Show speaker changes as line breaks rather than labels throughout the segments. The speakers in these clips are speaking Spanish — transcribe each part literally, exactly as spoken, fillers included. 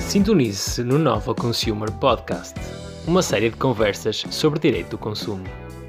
Sintonize-se no Nova Consumer Podcast, uma série de conversas sobre direito do consumo.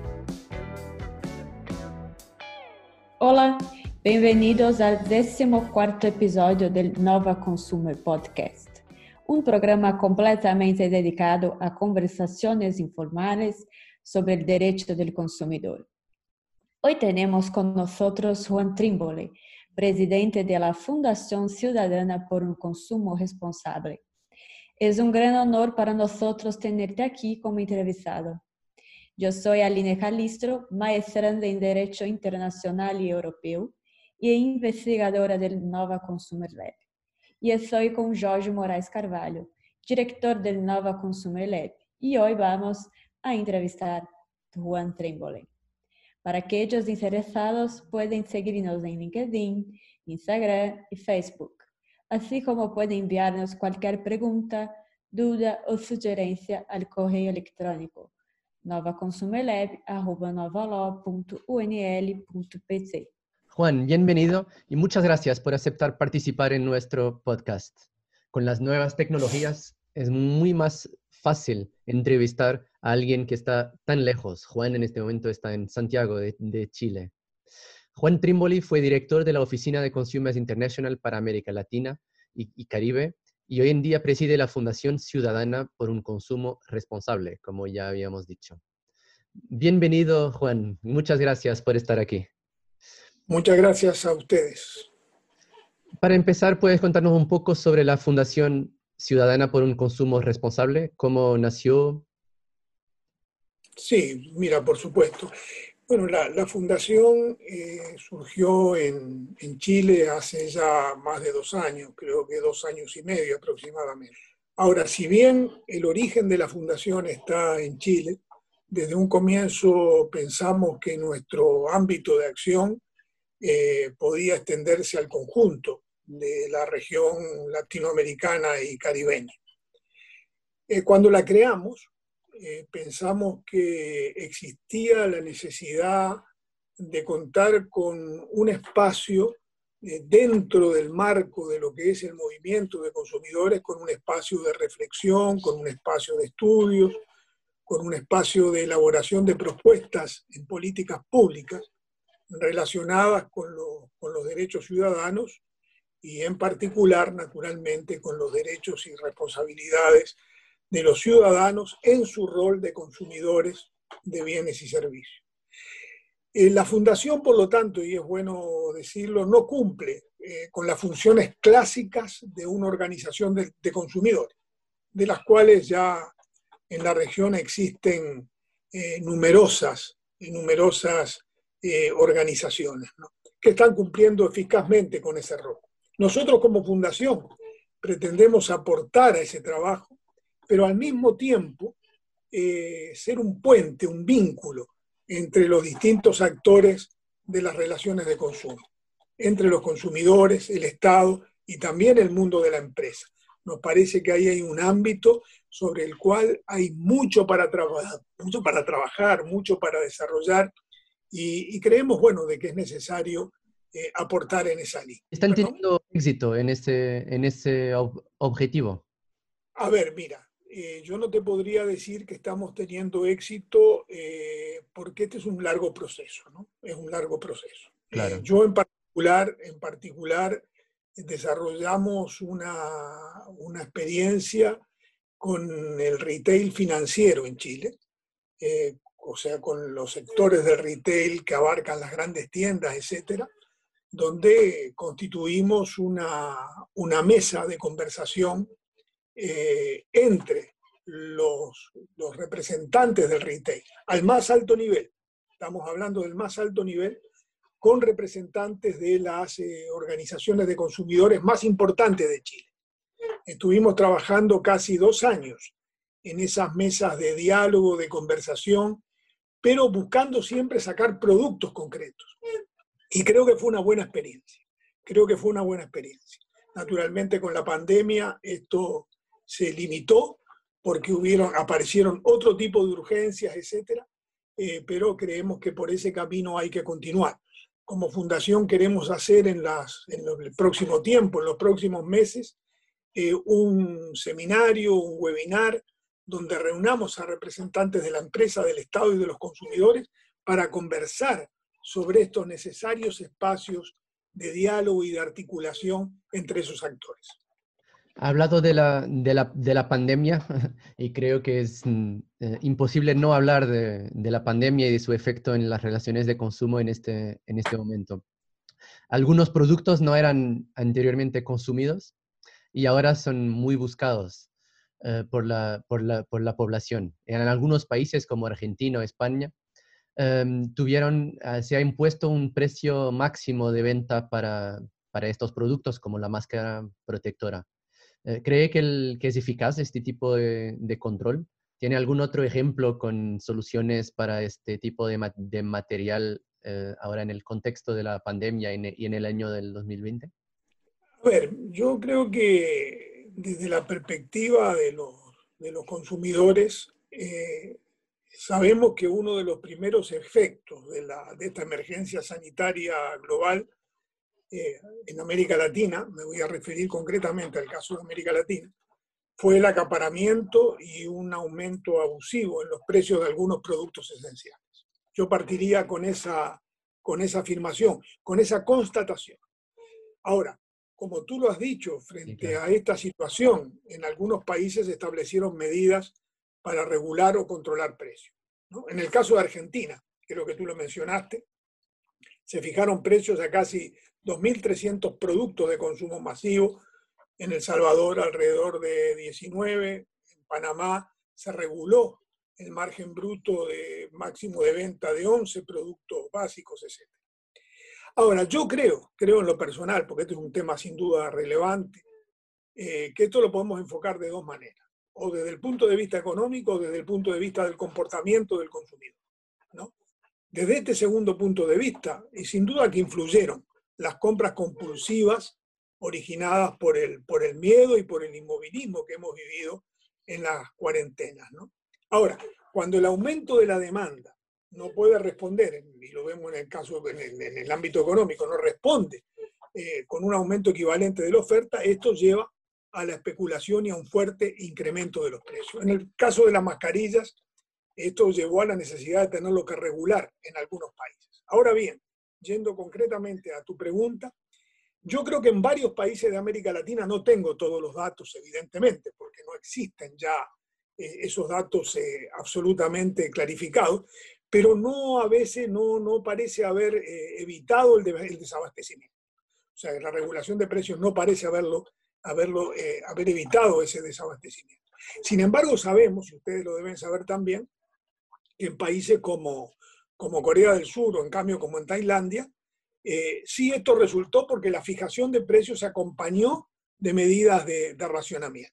Olá, bem-vindos ao décimo quarto episódio do Nova Consumer Podcast, um programa completamente dedicado a conversações informais sobre o direito do consumidor. Hoy tenemos con nosotros Juan Trimboli, presidente de la Fundación Ciudadana por un Consumo Responsable. Es un gran honor para nosotros tenerte aquí como entrevistado. Yo soy Aline Calistro, maestranda en Derecho Internacional y Europeo y investigadora del Nova Consumer Lab. Y estoy con Jorge Moraes Carvalho, director del Nova Consumer Lab. Y hoy vamos a entrevistar a Juan Trimboli. Para aquellos interesados, pueden seguirnos en LinkedIn, Instagram y Facebook, así como pueden enviarnos cualquier pregunta, duda o sugerencia al correo electrónico novaconsumerlab arroba novalaw punto u n l punto p c.
Juan, bienvenido y muchas gracias por aceptar participar en nuestro podcast. Con las nuevas tecnologías es muy más fácil entrevistar a alguien que está tan lejos. Juan en este momento está en Santiago de, de Chile. Juan Trimboli fue director de la Oficina de Consumers International para América Latina y, y Caribe y hoy en día preside la Fundación Ciudadana por un Consumo Responsable, como ya habíamos dicho. Bienvenido, Juan. Muchas gracias por estar aquí.
Muchas gracias a ustedes.
Para empezar, ¿puedes contarnos un poco sobre la Fundación Ciudadana por un Consumo Responsable? ¿Cómo nació?
Sí, mira, por supuesto. Bueno, la, la fundación eh, surgió en, en Chile hace ya más de dos años, creo que dos años y medio aproximadamente. Ahora, si bien el origen de la fundación está en Chile, desde un comienzo pensamos que nuestro ámbito de acción eh, podía extenderse al conjunto de la región latinoamericana y caribeña. Eh, cuando la creamos, eh, pensamos que existía la necesidad de contar con un espacio eh, dentro del marco de lo que es el movimiento de consumidores, con un espacio de reflexión, con un espacio de estudios, con un espacio de elaboración de propuestas en políticas públicas relacionadas con, lo, con los derechos ciudadanos y en particular, naturalmente, con los derechos y responsabilidades de los ciudadanos en su rol de consumidores de bienes y servicios. Eh, la Fundación, por lo tanto, y es bueno decirlo, no cumple eh, con las funciones clásicas de una organización de, de consumidores, de las cuales ya en la región existen eh, numerosas, numerosas eh, organizaciones, ¿no?, que están cumpliendo eficazmente con ese rol. Nosotros como fundación pretendemos aportar a ese trabajo, pero al mismo tiempo eh, ser un puente, un vínculo entre los distintos actores de las relaciones de consumo, entre los consumidores, el Estado y también el mundo de la empresa. Nos parece que ahí hay un ámbito sobre el cual hay mucho para trabajar, mucho para trabajar, mucho para desarrollar y, y creemos, bueno, de que es necesario eh, aportar en esa línea.
¿Están
Bueno,
teniendo éxito en ese, en ese ob- objetivo?
A ver, mira, eh, yo no te podría decir que estamos teniendo éxito eh, porque este es un largo proceso, ¿no? Es un largo proceso.
Claro.
Eh, yo en particular, en particular desarrollamos una, una experiencia con el retail financiero en Chile, eh, o sea, con los sectores del retail que abarcan las grandes tiendas, etcétera, donde constituimos una, una mesa de conversación eh, entre los, los representantes del retail, al más alto nivel, estamos hablando del más alto nivel, con representantes de las eh, organizaciones de consumidores más importantes de Chile. Estuvimos trabajando casi dos años en esas mesas de diálogo, de conversación, pero buscando siempre sacar productos concretos. Y creo que fue una buena experiencia. Creo que fue una buena experiencia. Naturalmente con la pandemia esto se limitó porque hubieron, aparecieron otro tipo de urgencias, etcétera, eh, pero creemos que por ese camino hay que continuar. Como fundación queremos hacer en, las, en el próximo tiempo, en los próximos meses, eh, un seminario, un webinar, donde reunamos a representantes de la empresa, del Estado y de los consumidores para conversar sobre estos necesarios espacios de diálogo y de articulación entre esos actores.
Ha hablado de la, de la, de la pandemia y creo que es eh, imposible no hablar de, de la pandemia y de su efecto en las relaciones de consumo en este, en este momento. Algunos productos no eran anteriormente consumidos y ahora son muy buscados eh, por, la, por, la, por la población. En algunos países como Argentina o España, eh, tuvieron, eh, se ha impuesto un precio máximo de venta para, para estos productos como la máscara protectora. ¿Cree que, el, que es eficaz este tipo de, de control? ¿Tiene algún otro ejemplo con soluciones para este tipo de, ma de material eh, ahora en el contexto de la pandemia y en, y en el año del dos mil veinte?
A ver, yo creo que desde la perspectiva de los, de los consumidores, eh, sabemos que uno de los primeros efectos de, la, de esta emergencia sanitaria global Eh, en América Latina, me voy a referir concretamente al caso de América Latina, fue el acaparamiento y un aumento abusivo en los precios de algunos productos esenciales. Yo partiría con esa, con esa afirmación, con esa constatación. Ahora, como tú lo has dicho, frente
Sí, claro.
a esta situación, en algunos países se establecieron medidas para regular o controlar precios, ¿no? En el caso de Argentina, creo que tú lo mencionaste, se fijaron precios a casi dos mil trescientos productos de consumo masivo, en El Salvador alrededor de diecinueve, en Panamá se reguló el margen bruto de máximo de venta de once productos básicos, etcétera. Ahora, yo creo, creo en lo personal, porque este es un tema sin duda relevante, eh, que esto lo podemos enfocar de dos maneras, o desde el punto de vista económico o desde el punto de vista del comportamiento del consumidor, ¿no? Desde este segundo punto de vista, y sin duda que influyeron las compras compulsivas originadas por el, por el miedo y por el inmovilismo que hemos vivido en las cuarentenas, ¿no? Ahora, cuando el aumento de la demanda no puede responder, y lo vemos en el caso, en el, en el ámbito económico, no responde eh, con un aumento equivalente de la oferta, esto lleva a la especulación y a un fuerte incremento de los precios. En el caso de las mascarillas, esto llevó a la necesidad de tenerlo que regular en algunos países. Ahora bien, yendo concretamente a tu pregunta, yo creo que en varios países de América Latina, no tengo todos los datos evidentemente, porque no existen ya eh, esos datos eh, absolutamente clarificados, pero no a veces no, no parece haber eh, evitado el, de, el desabastecimiento. O sea, la regulación de precios no parece haberlo, haberlo, eh, haber evitado ese desabastecimiento. Sin embargo, sabemos, y ustedes lo deben saber también, que en países como, como Corea del Sur o en cambio como en Tailandia, eh, sí esto resultó porque la fijación de precios se acompañó de medidas de, de racionamiento.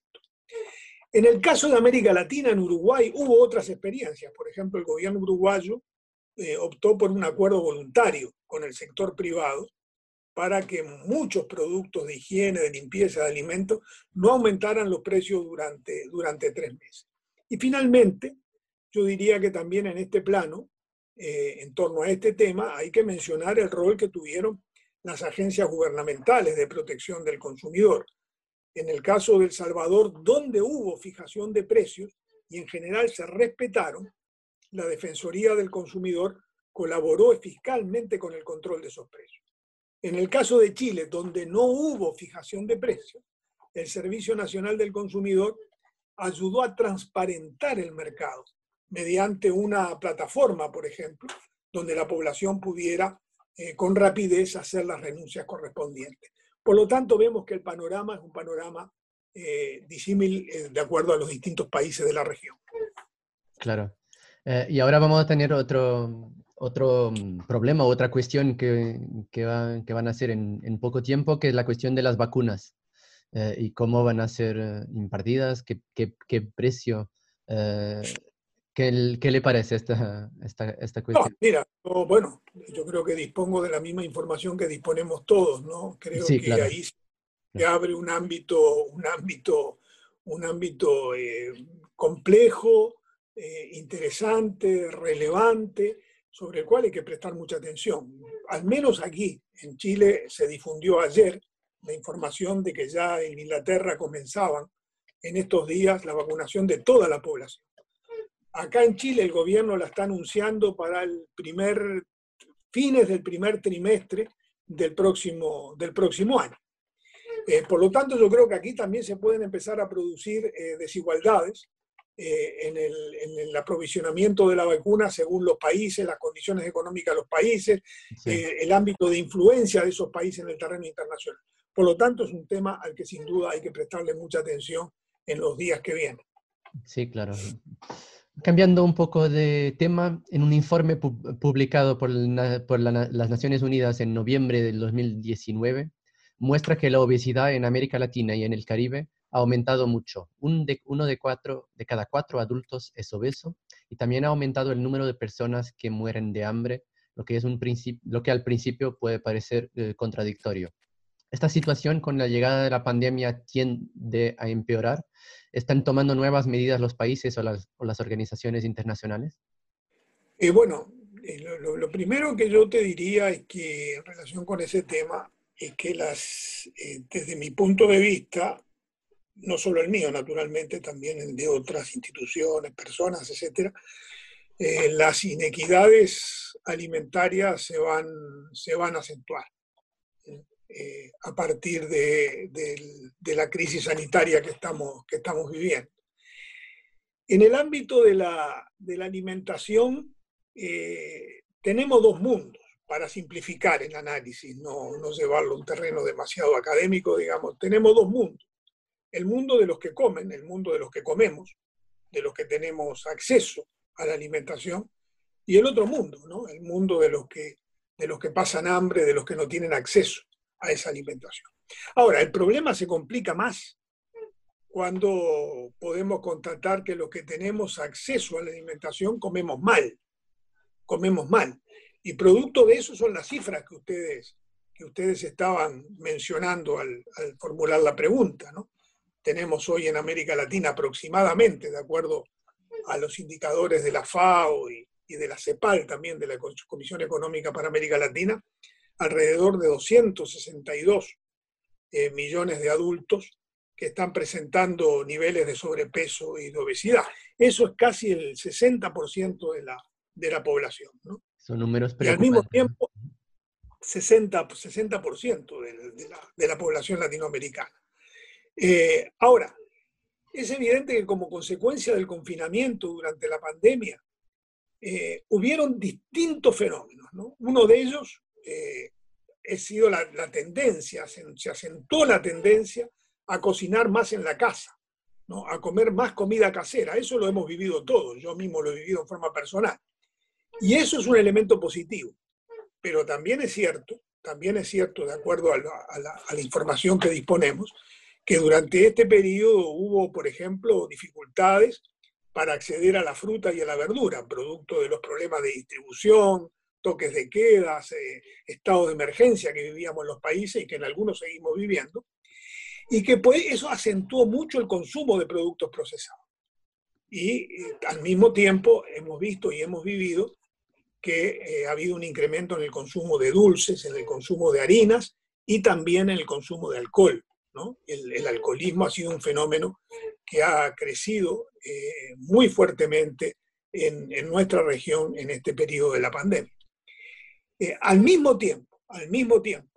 En el caso de América Latina, en Uruguay, hubo otras experiencias. Por ejemplo, el gobierno uruguayo eh, optó por un acuerdo voluntario con el sector privado para que muchos productos de higiene, de limpieza, de alimentos, no aumentaran los precios durante, durante tres meses. Y finalmente, yo diría que también en este plano, eh, en torno a este tema, hay que mencionar el rol que tuvieron las agencias gubernamentales de protección del consumidor. En el caso de El Salvador, donde hubo fijación de precios y en general se respetaron, la Defensoría del Consumidor colaboró fiscalmente con el control de esos precios. En el caso de Chile, donde no hubo fijación de precios, el Servicio Nacional del Consumidor ayudó a transparentar el mercado mediante una plataforma, por ejemplo, donde la población pudiera eh, con rapidez hacer las renuncias correspondientes. Por lo tanto, vemos que el panorama es un panorama eh, disímil eh, de acuerdo a los distintos países de la región.
Claro. Eh, y ahora vamos a tener otro, otro problema, otra cuestión que, que, va, que van a ser en, en poco tiempo, que es la cuestión de las vacunas eh, y cómo van a ser eh, impartidas, qué, qué, qué precio, eh, qué, qué le parece esta, esta, esta cuestión.
No, mira, yo, bueno, yo creo que dispongo de la misma información que disponemos todos, ¿no? Creo
Sí,
que
claro.
ahí se abre un ámbito, un ámbito, un ámbito eh, complejo, eh, interesante, relevante, sobre el cual hay que prestar mucha atención. Al menos aquí, en Chile, se difundió ayer la información de que ya en Inglaterra comenzaban en estos días la vacunación de toda la población. Acá en Chile el gobierno la está anunciando para el primer, fines del primer trimestre del próximo, del próximo año. Eh, por lo tanto, yo creo que aquí también se pueden empezar a producir eh, desigualdades eh, en, el, en el aprovisionamiento de la vacuna según los países, las condiciones económicas de los países, sí. eh, el ámbito de influencia de esos países en el terreno internacional. Por lo tanto, es un tema al que sin duda hay que prestarle mucha atención en los días que vienen.
Sí, claro. Cambiando un poco de tema, en un informe pu- publicado por, la, por la, las Naciones Unidas en noviembre del dos mil diecinueve, muestra que la obesidad en América Latina y en el Caribe ha aumentado mucho. Un de, uno de, cuatro, de cada cuatro adultos es obeso y también ha aumentado el número de personas que mueren de hambre, lo que, es un principio, lo que al principio puede parecer eh, contradictorio. Esta situación con la llegada de la pandemia tiende a empeorar. ¿Están tomando nuevas medidas los países o las, o las organizaciones internacionales?
Eh, bueno, eh, lo, lo primero que yo te diría es que en relación con ese tema es que las, eh, desde mi punto de vista, no solo el mío, naturalmente, también el de otras instituciones, personas, etcétera, eh, las inequidades alimentarias se van, se van a acentuar. Eh, a partir de, de, de la crisis sanitaria que estamos, que estamos viviendo. En el ámbito de la, de la alimentación, eh, tenemos dos mundos, para simplificar el análisis, no, no llevarlo a un terreno demasiado académico, digamos. Tenemos dos mundos. El mundo de los que comen, el mundo de los que comemos, de los que tenemos acceso a la alimentación, y el otro mundo, ¿no? El mundo de los que, de los que pasan hambre, de los que no tienen acceso a esa alimentación. Ahora, el problema se complica más cuando podemos constatar que los que tenemos acceso a la alimentación comemos mal, comemos mal. Y producto de eso son las cifras que ustedes, que ustedes estaban mencionando al, al formular la pregunta, ¿no? Tenemos hoy en América Latina aproximadamente, de acuerdo a los indicadores de la FAO y, y de la CEPAL, también de la Comisión Económica para América Latina, alrededor de doscientos sesenta y dos eh, millones de adultos que están presentando niveles de sobrepeso y de obesidad. Eso es casi el sesenta por ciento de la, de la población, ¿no?
Son números preocupantes.
Y al mismo tiempo, sesenta por ciento de, de, la, de la población latinoamericana. Eh, ahora, es evidente que como consecuencia del confinamiento durante la pandemia, eh, hubieron distintos fenómenos, ¿no? Uno de ellos eh, ha sido la, la tendencia, se, se acentuó la tendencia a cocinar más en la casa, ¿no? A comer más comida casera. Eso lo hemos vivido todos, yo mismo lo he vivido en forma personal. Y eso es un elemento positivo. Pero también es cierto, también es cierto, de acuerdo a la, a la, a la información que disponemos, que durante este periodo hubo, por ejemplo, dificultades para acceder a la fruta y a la verdura, producto de los problemas de distribución, toques de quedas, eh, estados de emergencia que vivíamos en los países y que en algunos seguimos viviendo, y que pues, eso acentuó mucho el consumo de productos procesados. Y eh, al mismo tiempo hemos visto y hemos vivido que eh, ha habido un incremento en el consumo de dulces, en el consumo de harinas y también en el consumo de alcohol, ¿no? El, el alcoholismo ha sido un fenómeno que ha crecido eh, muy fuertemente en, en nuestra región en este periodo de la pandemia. Eh, al mismo tiempo, al mismo tiempo,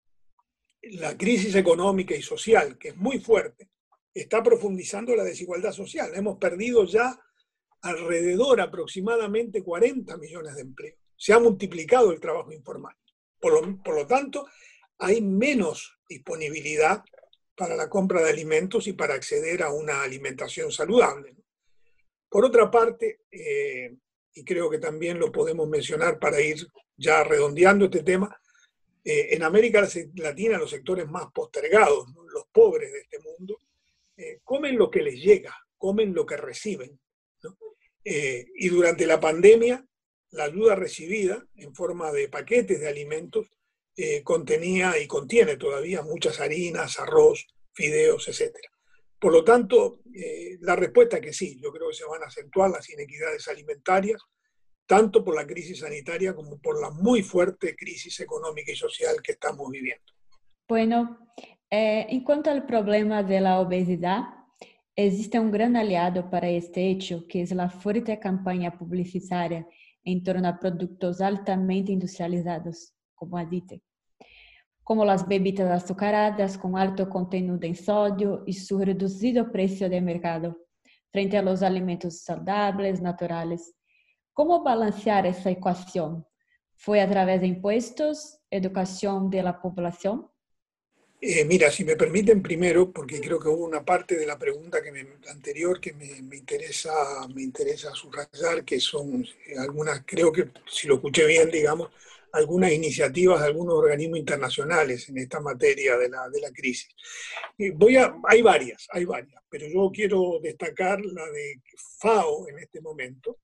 la crisis económica y social, que es muy fuerte, está profundizando la desigualdad social. Hemos perdido ya alrededor aproximadamente cuarenta millones de empleos. Se ha multiplicado el trabajo informal. Por lo, por lo tanto, hay menos disponibilidad para la compra de alimentos y para acceder a una alimentación saludable. Por otra parte, eh, y creo que también lo podemos mencionar para ir ya redondeando este tema, eh, en América Latina los sectores más postergados, ¿no? Los pobres de este mundo, eh, comen lo que les llega, comen lo que reciben, ¿no? Eh, y durante la pandemia, la ayuda recibida en forma de paquetes de alimentos eh, contenía y contiene todavía muchas harinas, arroz, fideos, etcétera. Por lo tanto, eh, la respuesta es que sí, yo creo que se van a acentuar las inequidades alimentarias, tanto por la crisis sanitaria como por la muy fuerte crisis económica y social que estamos viviendo.
Bueno, Eh, en cuanto al problema de la obesidad, existe un gran aliado para este hecho, que es la fuerte campaña publicitaria en torno a productos altamente industrializados, como adite, como las bebidas azucaradas con alto contenido en sodio y su reducido precio de mercado, frente a los alimentos saludables, naturales. ¿Cómo balancear esa ecuación? ¿Fue a través de impuestos, educación de la población?
Eh, mira, si me permiten primero, porque creo que hubo una parte de la pregunta que me, anterior que me, me, interesa, me interesa subrayar, que son eh, algunas, creo que si lo escuché bien, digamos, algunas iniciativas de algunos organismos internacionales en esta materia de la, de la crisis. Eh, voy a, hay varias, hay varias, pero yo quiero destacar la de FAO en este momento.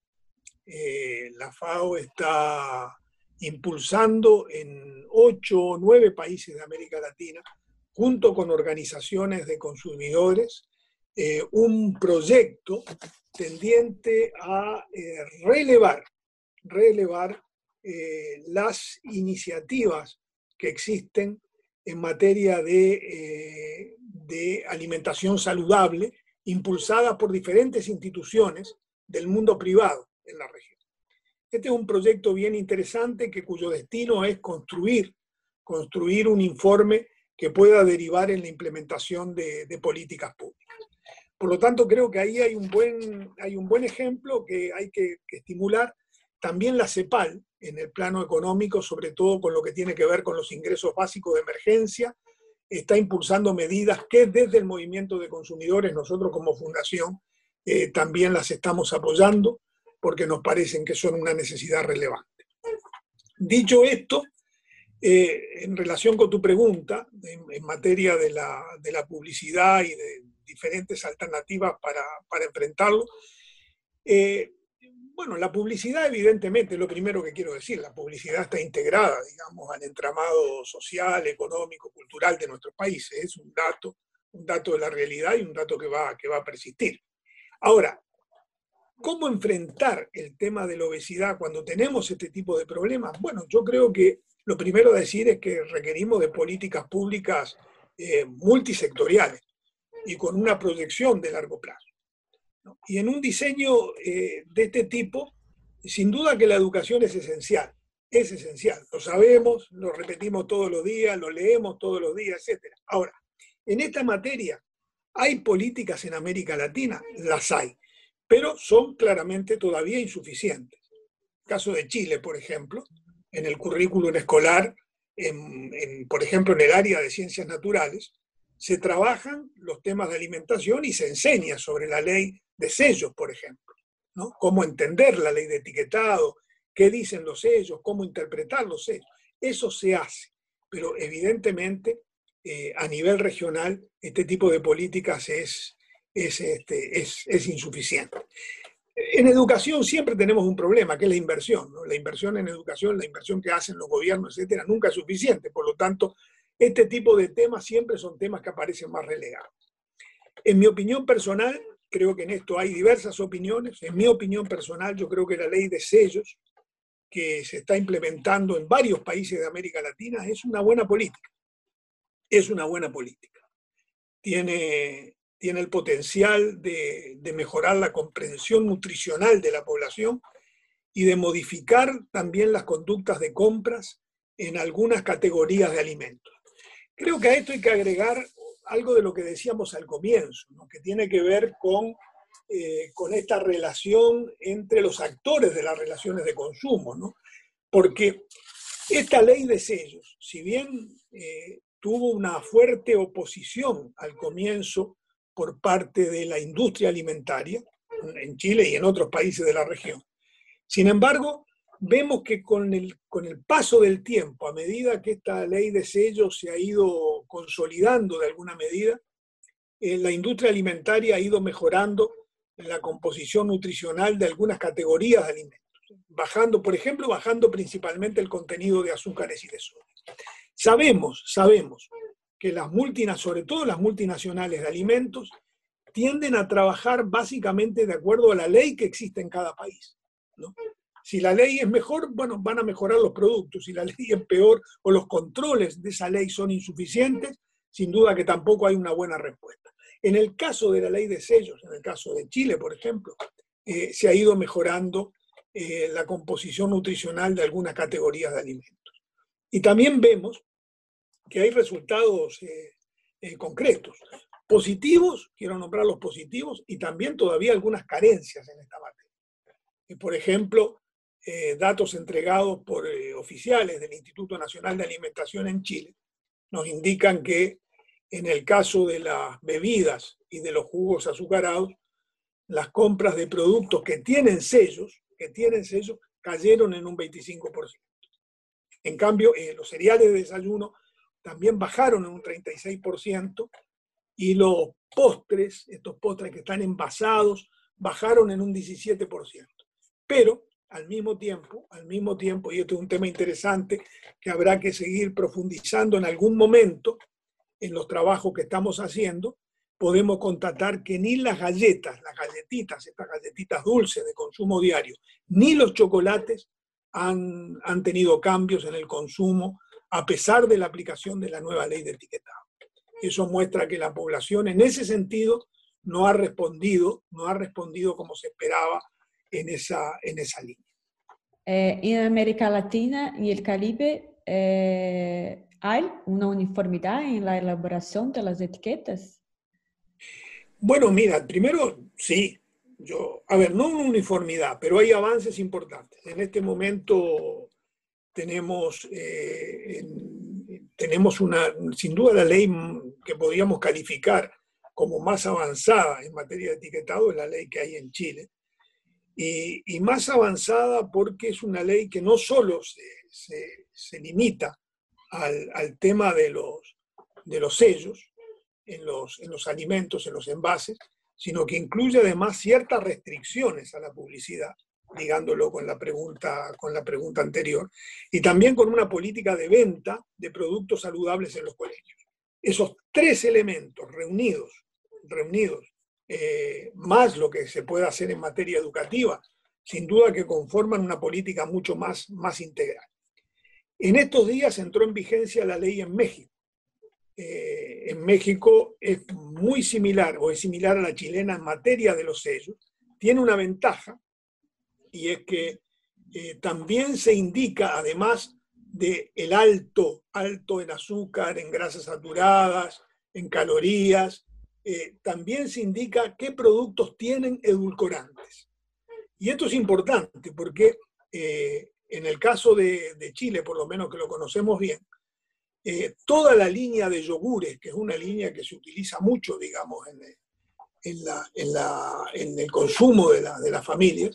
Eh, la FAO está impulsando en ocho o nueve países de América Latina, junto con organizaciones de consumidores, eh, un proyecto tendiente a eh, relevar, relevar eh, las iniciativas que existen en materia de, eh, de alimentación saludable, impulsadas por diferentes instituciones del mundo privado en la región. Este es un proyecto bien interesante que, cuyo destino es construir, construir un informe que pueda derivar en la implementación de, de políticas públicas. Por lo tanto, creo que ahí hay un buen, hay un buen ejemplo que hay que, que estimular. También la CEPAL, en el plano económico, sobre todo con lo que tiene que ver con los ingresos básicos de emergencia, está impulsando medidas que desde el movimiento de consumidores, nosotros como fundación, eh, también las estamos apoyando, porque nos parecen que son una necesidad relevante. Dicho esto, Eh, en relación con tu pregunta, en, en materia de la, de la publicidad y de diferentes alternativas para, para enfrentarlo, eh, bueno, la publicidad evidentemente es lo primero que quiero decir. La publicidad está integrada, digamos, al entramado social, económico, cultural de nuestros países. Es un dato, un dato de la realidad y un dato que va, que va a persistir. Ahora, ¿cómo enfrentar el tema de la obesidad cuando tenemos este tipo de problemas? Bueno, yo creo que lo primero a decir es que requerimos de políticas públicas eh, multisectoriales y con una proyección de largo plazo, ¿no? Y en un diseño eh, de este tipo, sin duda que la educación es esencial, es esencial. Lo sabemos, lo repetimos todos los días, lo leemos todos los días, etcétera. Ahora, en esta materia, ¿hay políticas en América Latina? Las hay, pero son claramente todavía insuficientes. El caso de Chile, por ejemplo, en el currículum escolar, en, en, por ejemplo, en el área de ciencias naturales, se trabajan los temas de alimentación y se enseña sobre la ley de sellos, por ejemplo, ¿no? Cómo entender la ley de etiquetado, qué dicen los sellos, cómo interpretar los sellos. Eso se hace, pero evidentemente eh, a nivel regional este tipo de políticas es, es, este, es, es insuficiente. En educación siempre tenemos un problema, que es la inversión, ¿no? La inversión en educación, la inversión que hacen los gobiernos, etcétera, nunca es suficiente. Por lo tanto, este tipo de temas siempre son temas que aparecen más relegados. En mi opinión personal, creo que en esto hay diversas opiniones. En mi opinión personal, yo creo que la ley de sellos que se está implementando en varios países de América Latina es una buena política. Es una buena política. Tiene... tiene el potencial de, de mejorar la comprensión nutricional de la población y de modificar también las conductas de compras en algunas categorías de alimentos. Creo que a esto hay que agregar algo de lo que decíamos al comienzo, ¿no? Que tiene que ver con, eh, con esta relación entre los actores de las relaciones de consumo, ¿no? Porque esta ley de sellos, si bien eh, tuvo una fuerte oposición al comienzo por parte de la industria alimentaria, en Chile y en otros países de la región. Sin embargo, vemos que con el, con el paso del tiempo, a medida que esta ley de sellos se ha ido consolidando de alguna medida, eh, la industria alimentaria ha ido mejorando la composición nutricional de algunas categorías de alimentos, bajando, por ejemplo, bajando principalmente el contenido de azúcares y de sodio. Sabemos, sabemos que las multinacionales, sobre todo las multinacionales de alimentos, tienden a trabajar básicamente de acuerdo a la ley que existe en cada país, ¿no? Si la ley es mejor, bueno, van a mejorar los productos. Si la ley es peor o los controles de esa ley son insuficientes, sin duda que tampoco hay una buena respuesta. En el caso de la ley de sellos, en el caso de Chile, por ejemplo, eh, se ha ido mejorando eh, la composición nutricional de algunas categorías de alimentos. Y también vemos que hay resultados eh, eh, concretos, positivos, quiero nombrar los positivos, y también todavía algunas carencias en esta materia. Y por ejemplo, eh, datos entregados por eh, oficiales del Instituto Nacional de Alimentación en Chile nos indican que en el caso de las bebidas y de los jugos azucarados, las compras de productos que tienen sellos, que tienen sellos, cayeron en un veinticinco por ciento. En cambio, eh, los cereales de desayuno también bajaron en un treinta y seis por ciento y los postres, estos postres que están envasados, bajaron en un diecisiete por ciento. Pero al mismo tiempo, al mismo tiempo, y esto es un tema interesante que habrá que seguir profundizando en algún momento en los trabajos que estamos haciendo, podemos constatar que ni las galletas, las galletitas, estas galletitas dulces de consumo diario, ni los chocolates han, han tenido cambios en el consumo a pesar de la aplicación de la nueva ley de etiquetado. Eso muestra que la población en ese sentido no ha respondido, no ha respondido como se esperaba en esa, en esa línea.
Eh, en América Latina y el Caribe, eh, ¿hay una uniformidad en la elaboración de las etiquetas?
Bueno, mira, primero sí, yo, a ver, no una uniformidad, pero hay avances importantes. En este momento tenemos, eh, en, tenemos una, sin duda la ley que podríamos calificar como más avanzada en materia de etiquetado es la ley que hay en Chile. Y, y más avanzada porque es una ley que no solo se, se, se limita al, al tema de los, de los sellos en los, en los alimentos, en los envases, sino que incluye además ciertas restricciones a la publicidad, ligándolo con la pregunta, con la pregunta anterior, y también con una política de venta de productos saludables en los colegios. Esos tres elementos reunidos, reunidos Eh, más lo que se puede hacer en materia educativa, sin duda que conforman una política mucho más, más integral. En estos días entró en vigencia la ley en México. Eh, en México es muy similar o es similar a la chilena en materia de los sellos. Tiene una ventaja y es que eh, también se indica, además del alto, alto en azúcar, en grasas saturadas, en calorías, Eh, también se indica qué productos tienen edulcorantes. Y esto es importante porque eh, en el caso de, de Chile, por lo menos que lo conocemos bien, eh, toda la línea de yogures, que es una línea que se utiliza mucho, digamos, en, en, la, en, la, en el consumo de, la, de las familias,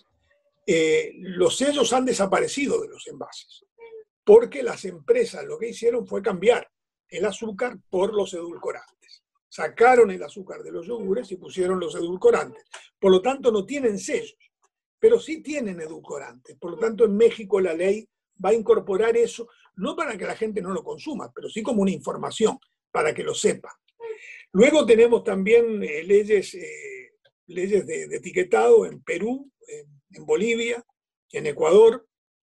eh, los sellos han desaparecido de los envases, porque las empresas lo que hicieron fue cambiar el azúcar por los edulcorantes. Sacaron el azúcar de los yogures y pusieron los edulcorantes. Por lo tanto, no tienen sellos, pero sí tienen edulcorantes. Por lo tanto, en México la ley va a incorporar eso, no para que la gente no lo consuma, pero sí como una información, para que lo sepa. Luego tenemos también eh, leyes, eh, leyes de, de etiquetado en Perú, en, en Bolivia, en Ecuador,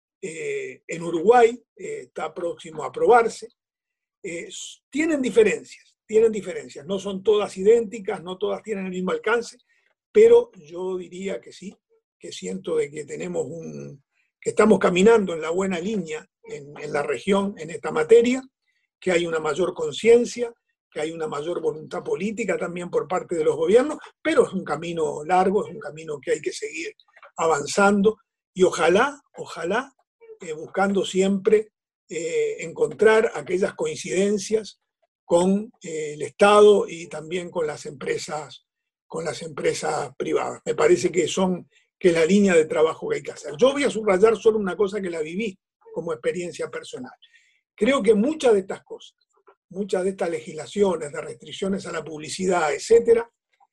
eh, en Uruguay, eh, está próximo a aprobarse. Eh, tienen diferencias. Tienen diferencias, no son todas idénticas, no todas tienen el mismo alcance, pero yo diría que sí, que siento de que tenemos un, que estamos caminando en la buena línea en, en la región en esta materia, que hay una mayor conciencia, que hay una mayor voluntad política también por parte de los gobiernos, pero es un camino largo, es un camino que hay que seguir avanzando y ojalá, ojalá, eh, buscando siempre eh, encontrar aquellas coincidencias con eh, el Estado y también con las empresas, con las empresas privadas. Me parece que son que es la línea de trabajo que hay que hacer. Yo voy a subrayar solo una cosa que la viví como experiencia personal. Creo que muchas de estas cosas, muchas de estas legislaciones, de restricciones a la publicidad, etcétera,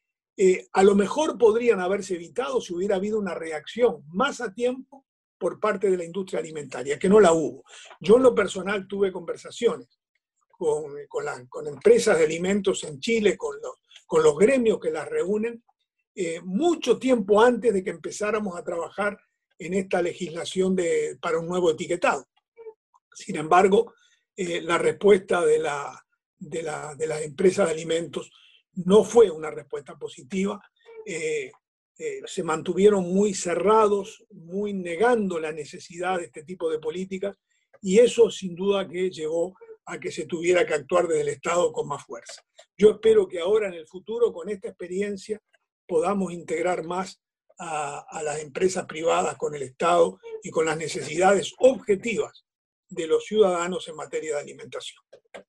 eh, a lo mejor podrían haberse evitado si hubiera habido una reacción más a tiempo por parte de la industria alimentaria, que no la hubo. Yo en lo personal tuve conversaciones Con, con, la, con empresas de alimentos en Chile, con los, con los gremios que las reúnen, eh, mucho tiempo antes de que empezáramos a trabajar en esta legislación de, para un nuevo etiquetado. Sin embargo, eh, la respuesta de la, de, la, de las empresas de alimentos no fue una respuesta positiva. Eh, eh, se mantuvieron muy cerrados, muy negando la necesidad de este tipo de políticas, y eso sin duda que llevó a que se tuviera que actuar desde el Estado con más fuerza. Yo espero que ahora en el futuro, con esta experiencia, podamos integrar más a, a las empresas privadas con el Estado y con las necesidades objetivas de los ciudadanos en materia de alimentación.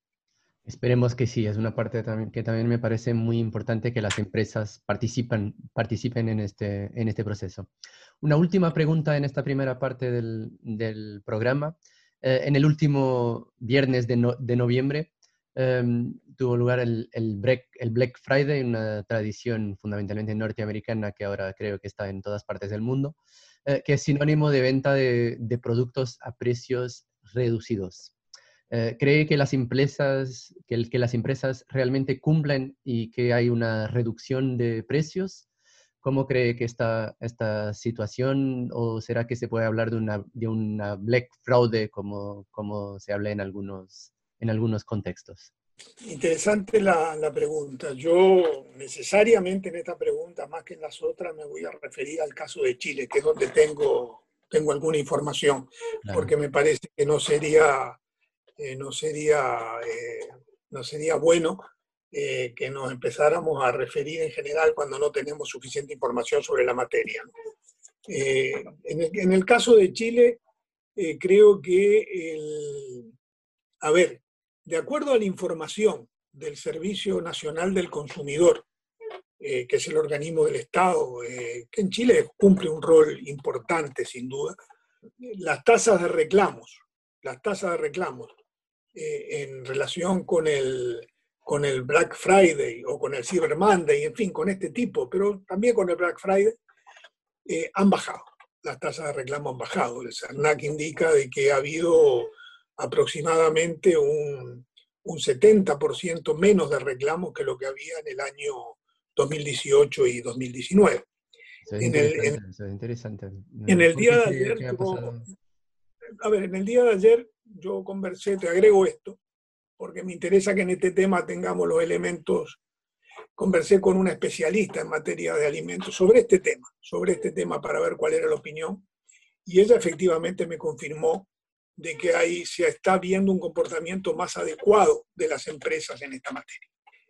Esperemos que sí, es una parte también, que también me parece muy importante, que las empresas participan, participen en este, en este proceso. Una última pregunta en esta primera parte del, del programa. Eh, en el último viernes de, no, de noviembre eh, tuvo lugar el, el, Black, el Black Friday, una tradición fundamentalmente norteamericana que ahora creo que está en todas partes del mundo, eh, que es sinónimo de venta de, de productos a precios reducidos. Eh, ¿Cree que las empresas, que, el, que las empresas realmente cumplen y que hay una reducción de precios? ¿Cómo cree que está esta situación? ¿O será que se puede hablar de una, de una black fraude como, como se habla en algunos, en algunos contextos?
Interesante la, la pregunta. Yo necesariamente en esta pregunta, más que en las otras, me voy a referir al caso de Chile, que es donde tengo, tengo alguna información, claro. Porque me parece que no sería... Eh, no, sería, eh, no sería bueno eh, que nos empezáramos a referir en general cuando no tenemos suficiente información sobre la materia, ¿no? Eh, en, el, en el caso de Chile, eh, creo que, el, a ver, de acuerdo a la información del Servicio Nacional del Consumidor, eh, que es el organismo del Estado, eh, que en Chile cumple un rol importante sin duda, las tasas de reclamos, las tasas de reclamos, Eh, en relación con el, con el Black Friday o con el Cyber Monday, en fin, con este tipo, pero también con el Black Friday, eh, han bajado. Las tasas de reclamo han bajado. El CERNAC indica de que ha habido aproximadamente un, un setenta por ciento menos de reclamos que lo que había en el año dos mil dieciocho y dos mil diecinueve.
Eso es
en
interesante.
El, en,
eso es interesante.
En el día de
qué,
ayer,
qué
yo, a ver, en el día de ayer yo conversé, te agrego esto, porque me interesa que en este tema tengamos los elementos. Conversé con una especialista en materia de alimentos sobre este tema, sobre este tema para ver cuál era la opinión, y ella efectivamente me confirmó de que ahí se está viendo un comportamiento más adecuado de las empresas en esta materia.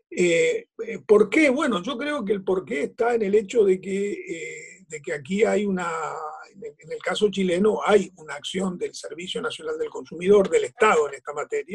Eh, ¿Por qué? Bueno, yo creo que el porqué está en el hecho de que, eh, de que aquí hay una, en el caso chileno, hay una acción del Servicio Nacional del Consumidor, del Estado en esta materia,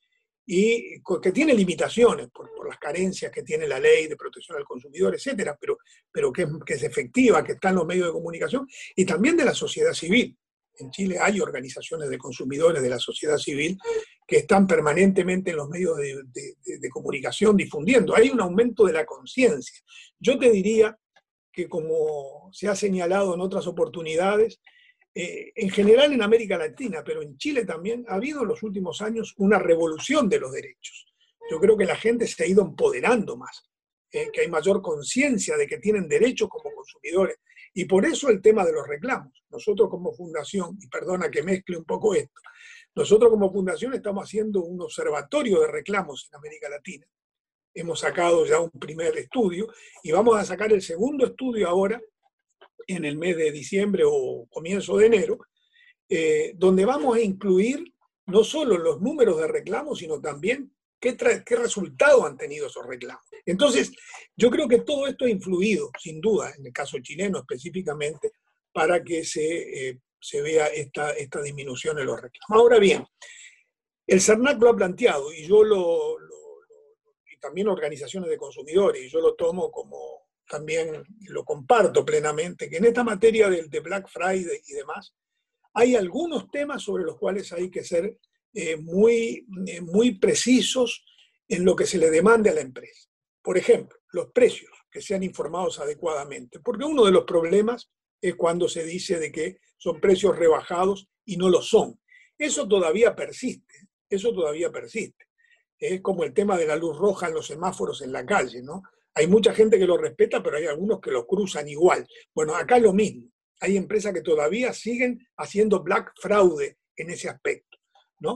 y que tiene limitaciones por, por las carencias que tiene la ley de protección al consumidor, etcétera, pero, pero que, que es efectiva, que está en los medios de comunicación, y también de la sociedad civil. En Chile hay organizaciones de consumidores de la sociedad civil que están permanentemente en los medios de, de, de, de comunicación difundiendo. Hay un aumento de la conciencia. Yo te diría que, como se ha señalado en otras oportunidades, eh, en general en América Latina, pero en Chile también, ha habido en los últimos años una revolución de los derechos. Yo creo que la gente se ha ido empoderando más, eh, que hay mayor conciencia de que tienen derechos como consumidores. Y por eso el tema de los reclamos. Nosotros como fundación, y perdona que mezcle un poco esto, nosotros como fundación estamos haciendo un observatorio de reclamos en América Latina. Hemos sacado ya un primer estudio y vamos a sacar el segundo estudio ahora en el mes de diciembre o comienzo de enero, eh, donde vamos a incluir no solo los números de reclamos, sino también qué, qué resultado han tenido esos reclamos. Entonces, yo creo que todo esto ha influido, sin duda, en el caso chileno específicamente, para que se, eh, se vea esta, esta disminución en los reclamos. Ahora bien, el CERNAC lo ha planteado, y yo lo, lo, lo y también organizaciones de consumidores, y yo lo tomo como, también lo comparto plenamente, que en esta materia de, de Black Friday y demás, hay algunos temas sobre los cuales hay que ser eh, muy, eh, muy precisos en lo que se le demande a la empresa. Por ejemplo, los precios, que sean informados adecuadamente, porque uno de los problemas es cuando se dice de que son precios rebajados y no lo son. Eso todavía persiste, eso todavía persiste. Es como el tema de la luz roja en los semáforos en la calle, ¿no? Hay mucha gente que lo respeta, pero hay algunos que lo cruzan igual. Bueno, acá es lo mismo. Hay empresas que todavía siguen haciendo black fraude en ese aspecto, ¿no?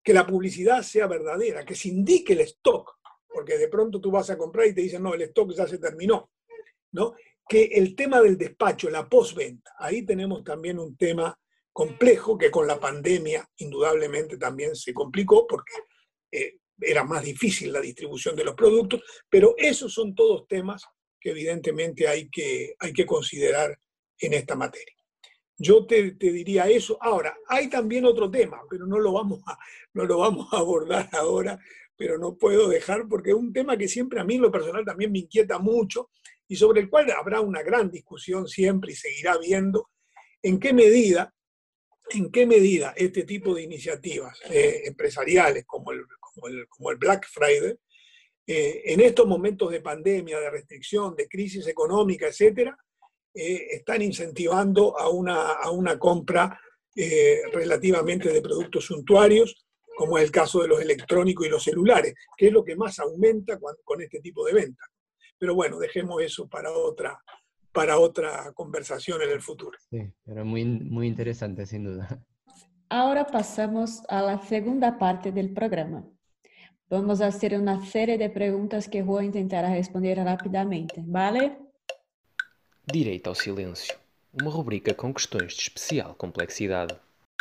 que la publicidad sea verdadera, que se indique el stock, porque de pronto tú vas a comprar y te dicen, no, el stock ya se terminó, ¿no? Que el tema del despacho, la postventa, ahí tenemos también un tema complejo que con la pandemia indudablemente también se complicó porque eh, era más difícil la distribución de los productos, pero esos son todos temas que evidentemente hay que, hay que considerar en esta materia. Yo te, te diría eso. Ahora, hay también otro tema, pero no lo, vamos a, no lo vamos a abordar ahora, pero no puedo dejar porque es un tema que siempre a mí en lo personal también me inquieta mucho y sobre el cual habrá una gran discusión siempre y seguirá habiendo en qué medida, en qué medida este tipo de iniciativas eh, empresariales como el, como, el, como el Black Friday, eh, en estos momentos de pandemia, de restricción, de crisis económica, etcétera, eh, están incentivando a una, a una compra eh, relativamente de productos suntuarios, como es el caso de los electrónicos y los celulares, que es lo que más aumenta con, con este tipo de ventas. Pero bueno, dejemos eso para otra, para otra conversación en el futuro.
Sí, pero muy, muy interesante, sin duda.
Ahora pasamos a la segunda parte del programa. Vamos a hacer una serie de preguntas que Juan intentará responder rápidamente, ¿vale?
Direito ao silêncio. Uma rubrica com questões de especial complexidade.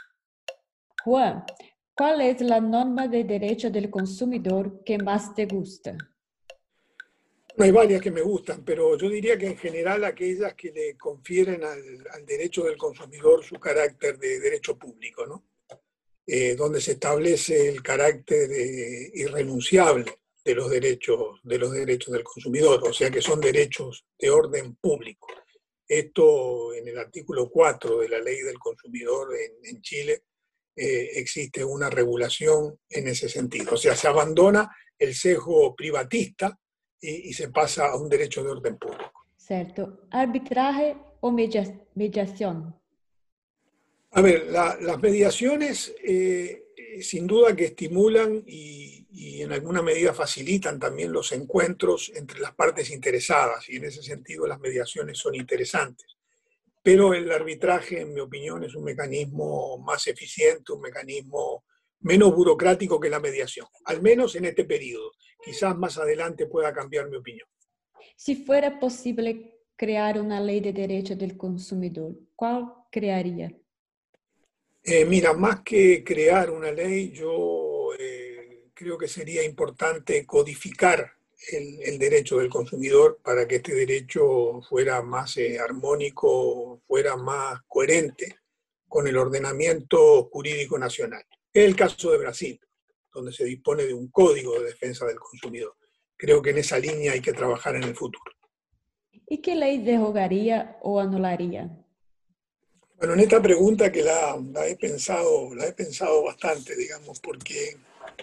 Juan, ¿cuál es la norma de derecho del consumidor que más te gusta?
Hay varias que me gustan, pero yo diría que en general aquellas que le confieren al, al derecho del consumidor su carácter de derecho público, ¿no? Eh, donde se establece el carácter eh, irrenunciable de los, derechos, de los derechos del consumidor, o sea que son derechos de orden público. Esto en el artículo cuatro de la Ley del Consumidor en, en Chile eh, existe una regulación en ese sentido. O sea, se abandona el sesgo privatista y, y se pasa a un derecho de orden público.
Cierto. ¿Arbitraje o media- mediación?
A ver, la, las mediaciones eh, sin duda que estimulan y, y en alguna medida facilitan también los encuentros entre las partes interesadas y en ese sentido las mediaciones son interesantes. Pero el arbitraje, en mi opinión, es un mecanismo más eficiente, un mecanismo menos burocrático que la mediación, al menos en este periodo. Quizás más adelante pueda cambiar mi opinión.
Si fuera posible crear una ley de derecho del consumidor, ¿cuál crearía?
Eh, mira, más que crear una ley, yo eh, creo que sería importante codificar el, el derecho del consumidor para que este derecho fuera más eh, armónico, fuera más coherente con el ordenamiento jurídico nacional. Es el caso de Brasil, donde se dispone de un código de defensa del consumidor. Creo que en esa línea hay que trabajar en el futuro.
¿Y qué ley derogaría o anularía?
Bueno, en esta pregunta que la, la, he pensado, la he pensado bastante, digamos, porque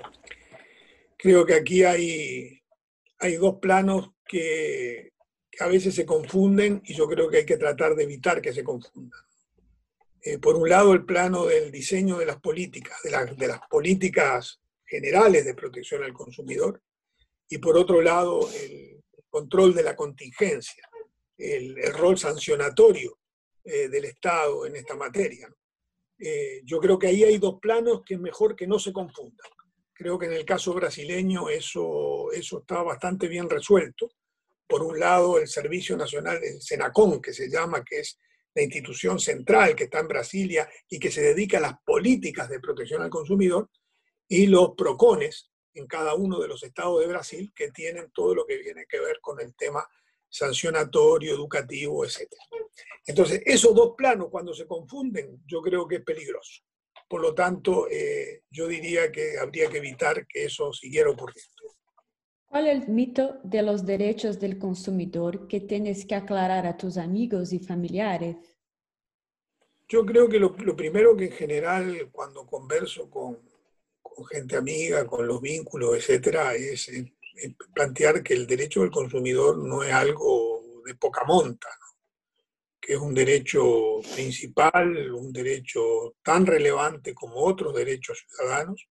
creo que aquí hay, hay dos planos que, que a veces se confunden y yo creo que hay que tratar de evitar que se confundan. Eh, por un lado, el plano del diseño de las políticas, de, la, de las políticas generales de protección al consumidor, y por otro lado, el control de la contingencia, el, el rol sancionatorio eh, del Estado en esta materia. Eh, yo creo que ahí hay dos planos que es mejor que no se confundan. Creo que en el caso brasileño eso, eso está bastante bien resuelto. Por un lado, el Servicio Nacional, el SENACON, que se llama, que es la institución central que está en Brasilia y que se dedica a las políticas de protección al consumidor, y los PROCONES en cada uno de los estados de Brasil que tienen todo lo que viene que ver con el tema sancionatorio, educativo, etcétera. Entonces, esos dos planos, cuando se confunden, yo creo que es peligroso. Por lo tanto, eh, yo diría que habría que evitar que eso siguiera ocurriendo.
¿Cuál es el mito de los derechos del consumidor que tienes que aclarar a tus amigos y familiares?
Yo creo que lo, lo primero que en general, cuando converso con, con gente amiga, con los vínculos, etcétera, es, es plantear que el derecho del consumidor no es algo de poca monta, ¿no? Que es un derecho principal, un derecho tan relevante como otros derechos ciudadanos,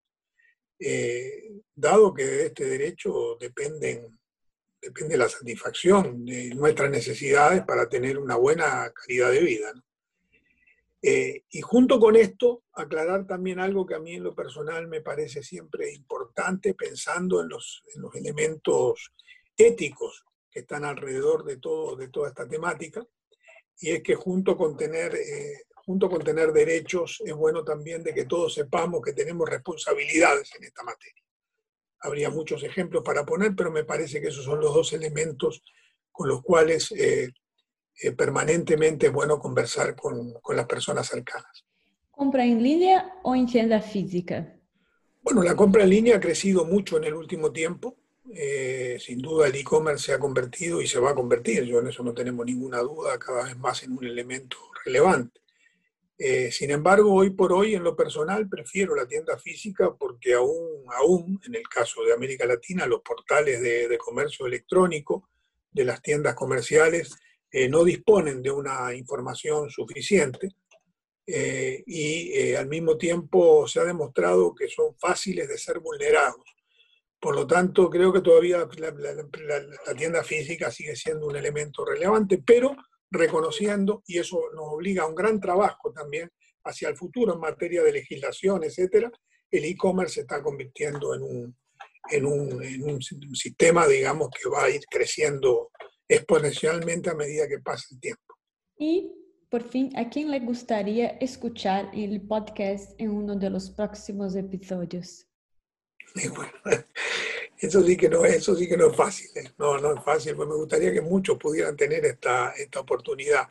eh, dado que de este derecho dependen, depende la satisfacción de nuestras necesidades para tener una buena calidad de vida, ¿no? Eh, y junto con esto, aclarar también algo que a mí en lo personal me parece siempre importante, pensando en los, en los elementos éticos que están alrededor de, todo, de toda esta temática, y es que junto con, tener, eh, junto con tener derechos, es bueno también de que todos sepamos que tenemos responsabilidades en esta materia. Habría muchos ejemplos para poner, pero me parece que esos son los dos elementos con los cuales eh, eh, permanentemente es bueno conversar con, con las personas cercanas.
¿Compra en línea o en tienda física?
Bueno, la compra en línea ha crecido mucho en el último tiempo. Eh, sin duda el e-commerce se ha convertido y se va a convertir, yo en eso no tenemos ninguna duda, cada vez más en un elemento relevante. Eh, sin embargo, hoy por hoy, en lo personal, prefiero la tienda física porque aún, aún en el caso de América Latina, los portales de, de comercio electrónico de las tiendas comerciales eh, no disponen de una información suficiente eh, y eh, al mismo tiempo se ha demostrado que son fáciles de ser vulnerados. Por lo tanto, creo que todavía la, la, la, la tienda física sigue siendo un elemento relevante, pero reconociendo, y eso nos obliga a un gran trabajo también hacia el futuro en materia de legislación, etcétera, el e-commerce se está convirtiendo en un, en, un, en un sistema, digamos, que va a ir creciendo exponencialmente a medida que pasa el tiempo.
Y, por fin, ¿a quién le gustaría escuchar el podcast en uno de los próximos episodios?
Y bueno, eso sí que no es, eso sí que no es fácil, ¿eh? No, no es fácil, pues me gustaría que muchos pudieran tener esta, esta oportunidad.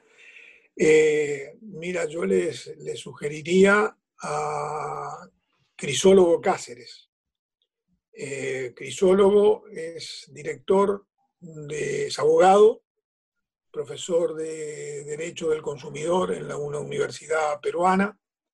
Eh, mira, yo les, les sugeriría a Crisólogo Cáceres. Eh, Crisólogo es director, de, es abogado, profesor de Derecho del Consumidor en la, una universidad peruana.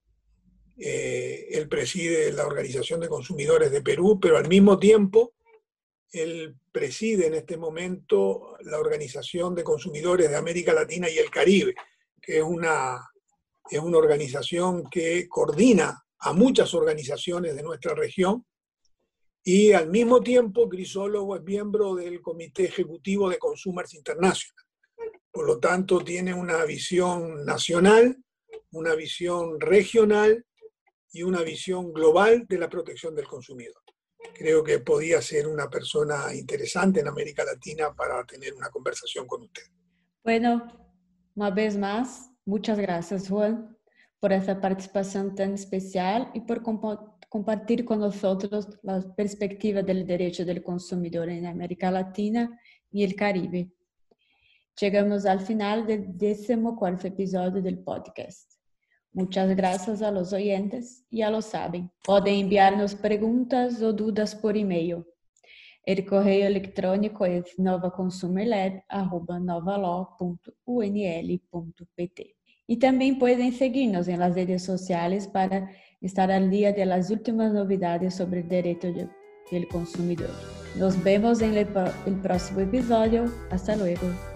Eh, él preside la Organización de Consumidores de Perú, pero al mismo tiempo él preside en este momento la Organización de Consumidores de América Latina y el Caribe, que es una, es una organización que coordina a muchas organizaciones de nuestra región, y al mismo tiempo Crisólogo es miembro del Comité Ejecutivo de Consumers International. Por lo tanto, tiene una visión nacional, una visión regional y una visión global de la protección del consumidor. Creo que podía ser una persona interesante en América Latina para tener una conversación con usted.
Bueno, una vez más, muchas gracias, Juan, por esta participación tan especial y por comp- compartir con nosotros la perspectiva del derecho del consumidor en América Latina y el Caribe. Llegamos al final del decimocuarto episodio del podcast. Muchas gracias a los oyentes, ya lo saben. Pueden enviarnos preguntas o dudas por email. El correo electrónico es novaconsumerlab arroba novalaw punto u n l punto p t. Y también pueden seguirnos en las redes sociales para estar al día de las últimas novedades sobre el derecho del consumidor. Nos vemos en el próximo episodio. Hasta luego.